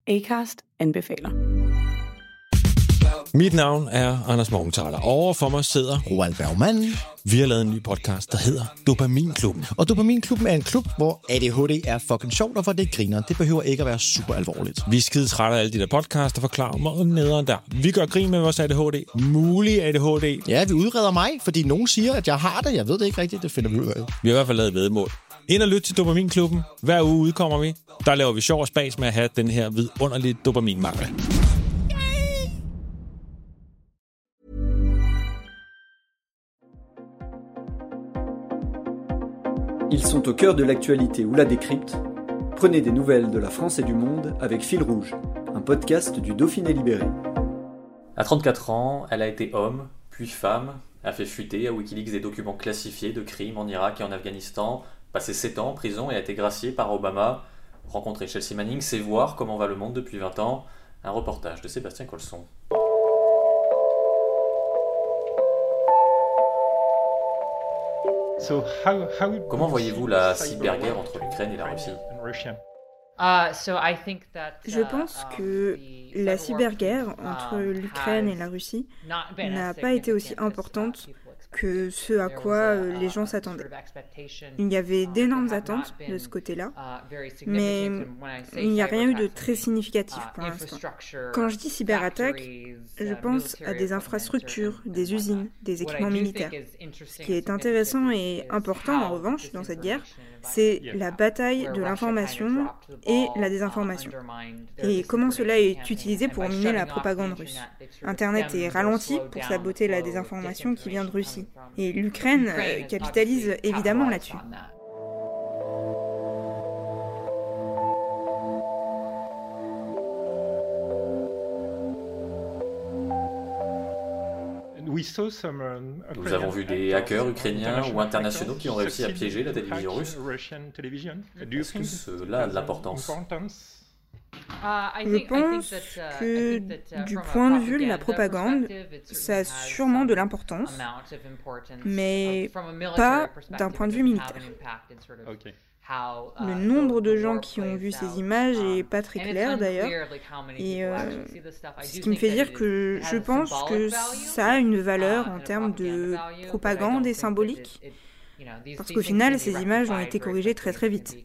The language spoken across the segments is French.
Acast anbefaler. Mit navn er Anders Morgenthaler. Overfor mig sidder Roald Bergmann. Vi har lavet en ny podcast, der hedder Dopaminklubben. Og Dopaminklubben er en klub, hvor ADHD er fucking sjovt, og hvor det griner. Det behøver ikke at være super alvorligt. Vi er skide trætte af alle de der podcasts, der forklarer mig og nederen der. Vi gør grin med vores ADHD. Mulig ADHD. Ja, vi udreder mig, fordi nogen siger, at jeg har det. Jeg ved det ikke rigtigt, det finder vi ud af. Vi har i hvert fald lavet væddemål. Ind og lyt til Dopaminklubben. Hver uge udkommer vi. Der laver vi sjov og spas med at have den her vidunderlige dopaminmangel. Ils sont au cœur de l'actualité ou la décrypte. Prenez des nouvelles de la France et du monde avec Fil Rouge, un podcast du Dauphiné Libéré. À 34 ans, elle a été homme, puis femme, a fait fuiter à Wikileaks des documents classifiés de crimes en Irak et en Afghanistan, passé 7 ans en prison et a été graciée par Obama. Rencontrer Chelsea Manning, c'est voir comment va le monde depuis 20 ans. Un reportage de Sébastien Colson. Comment voyez-vous la cyberguerre entre l'Ukraine et la Russie ? Je pense que la cyberguerre entre l'Ukraine et la Russie n'a pas été aussi importante que ce à quoi les gens s'attendaient. Il y avait d'énormes attentes de ce côté-là, mais il n'y a rien eu de très significatif pour l'instant. Quand je dis cyberattaque, je pense à des infrastructures, des usines, des équipements militaires. Ce qui est intéressant et important en revanche dans cette guerre, c'est la bataille de l'information et la désinformation. Et comment cela est utilisé pour miner la propagande russe. Internet est ralenti pour saboter la désinformation qui vient de Russie. Et l'Ukraine capitalise évidemment là-dessus. Nous avons vu des hackers ukrainiens ou internationaux qui ont réussi à piéger la télévision russe. Est-ce que cela a de l'importance ? Je pense que du point de vue de la propagande, ça a sûrement de l'importance, mais pas d'un point de vue militaire. Le nombre de gens qui ont vu ces images est pas très clair d'ailleurs, et ce qui me fait dire que je pense que ça a une valeur en termes de propagande et symbolique, parce qu'au final, ces images ont été corrigées très très vite.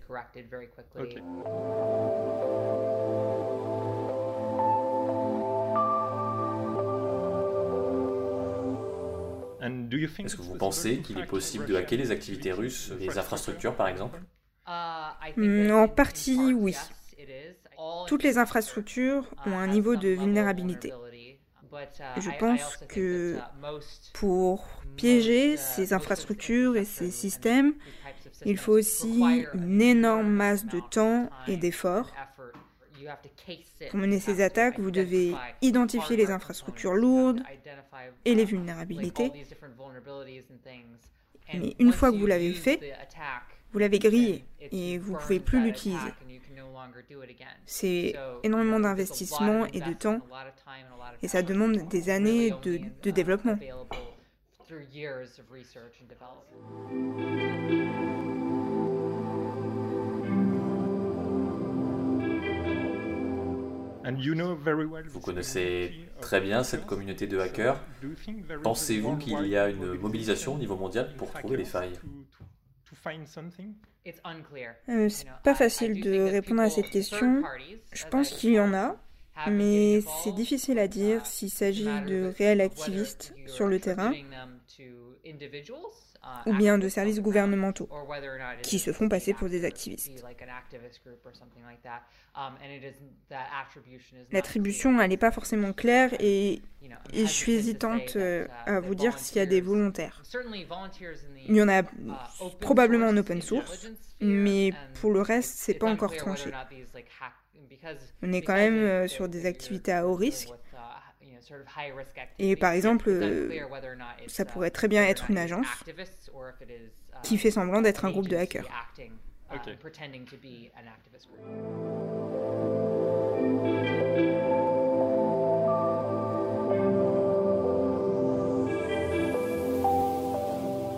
Est-ce que vous pensez qu'il est possible de hacker les activités russes, les infrastructures par exemple ? En partie, oui. Toutes les infrastructures ont un niveau de vulnérabilité. Je pense que pour piéger ces infrastructures et ces systèmes, il faut aussi une énorme masse de temps et d'efforts. Pour mener ces attaques, vous devez identifier les infrastructures lourdes et les vulnérabilités. Mais une fois que vous l'avez fait, vous l'avez grillé et vous ne pouvez plus l'utiliser. C'est énormément d'investissement et de temps, et ça demande des années de développement. Vous connaissez très bien cette communauté de hackers. Pensez-vous qu'il y a une mobilisation au niveau mondial pour trouver les failles ? C'est pas facile de répondre à cette question. Je pense qu'il y en a, mais c'est difficile à dire s'il s'agit de réels activistes sur le terrain ou bien de services gouvernementaux qui se font passer pour des activistes. L'attribution, elle n'est pas forcément claire et je suis hésitante à vous dire s'il y a des volontaires. Il y en a probablement en open source, mais pour le reste, c'est pas encore tranché. On est quand même sur des activités à haut risque. Et par exemple, ça pourrait très bien être une agence qui fait semblant d'être un groupe de hackers.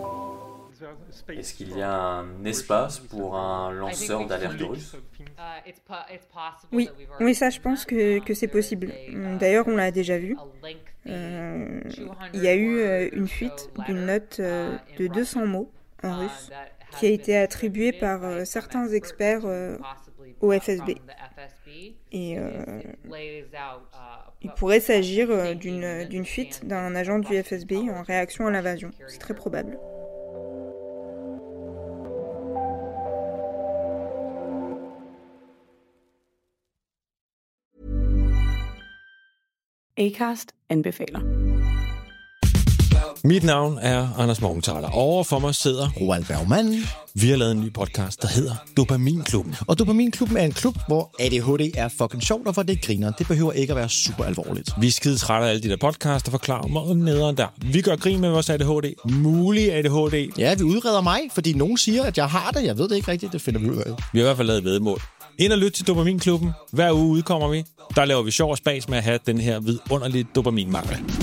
Est-ce qu'il y a un espace pour un lanceur d'alerte russe ? Oui, ça, je pense que c'est possible. D'ailleurs, on l'a déjà vu. Il y a eu une fuite d'une note de 200 mots en russe qui a été attribuée par certains experts au FSB. Et il pourrait s'agir d'une fuite d'un agent du FSB en réaction à l'invasion. C'est très probable. Acast anbefaler. Mit navn er Anders Morgenthaler. Over for mig sidder Roald Bergmann. Vi har lavet en ny podcast, der hedder Dopaminklubben. Og Dopaminklubben er en klub, hvor ADHD er fucking sjovt, og hvor det griner. Det behøver ikke at være super alvorligt. Vi er skide trætte af alle de der podcasts, der forklarer mig nederen der. Vi gør grin med vores ADHD. Mulig ADHD. Ja, vi udreder mig, fordi nogen siger, at jeg har det. Jeg ved det ikke rigtigt, det finder vi ud af. Vi har i hvert fald lavet væddemål. Ind og lyt til Dopaminklubben. Hver uge udkommer vi. Der laver vi sjov og spas med at have den her vidunderlige dopaminmangel.